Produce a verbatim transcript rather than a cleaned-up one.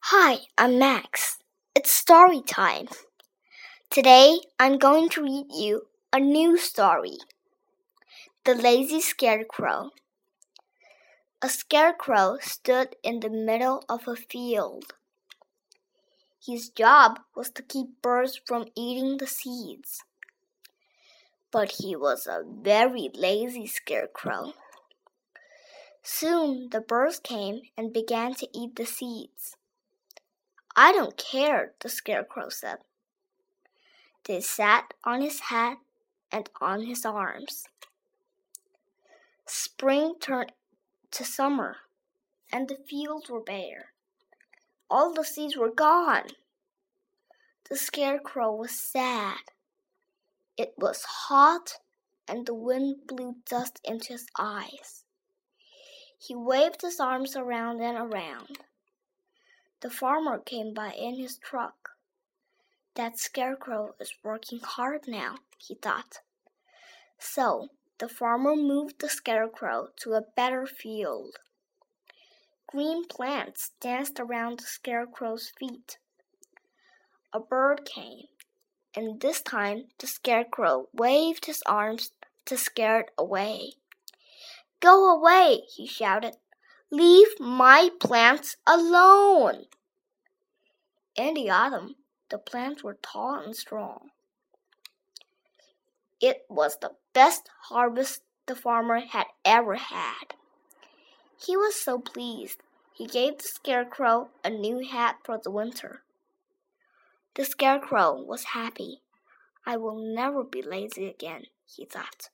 Hi, I'm Max. It's story time. Today I'm going to read you a new story. The Lazy Scarecrow. A scarecrow stood in the middle of a field. His job was to keep birds from eating the seeds. But he was a very lazy scarecrow. Soon the birds came and began to eat the seeds. I don't care, the scarecrow said. They sat on his head and on his arms. Spring turned to summer, and the fields were bare. All the seeds were gone. The scarecrow was sad. It was hot, and the wind blew dust into his eyes. He waved his arms around and around. The farmer came by in his truck. That scarecrow is working hard now, he thought. So the farmer moved the scarecrow to a better field. Green plants danced around the scarecrow's feet. A bird came, and this time the scarecrow waved his arms to scare it away. Go away, he shouted. Leave my plants alone. In the autumn, the plants were tall and strong. It was the best harvest the farmer had ever had. He was so pleased, he gave the scarecrow a new hat for the winter. The scarecrow was happy. I will never be lazy again, he thought.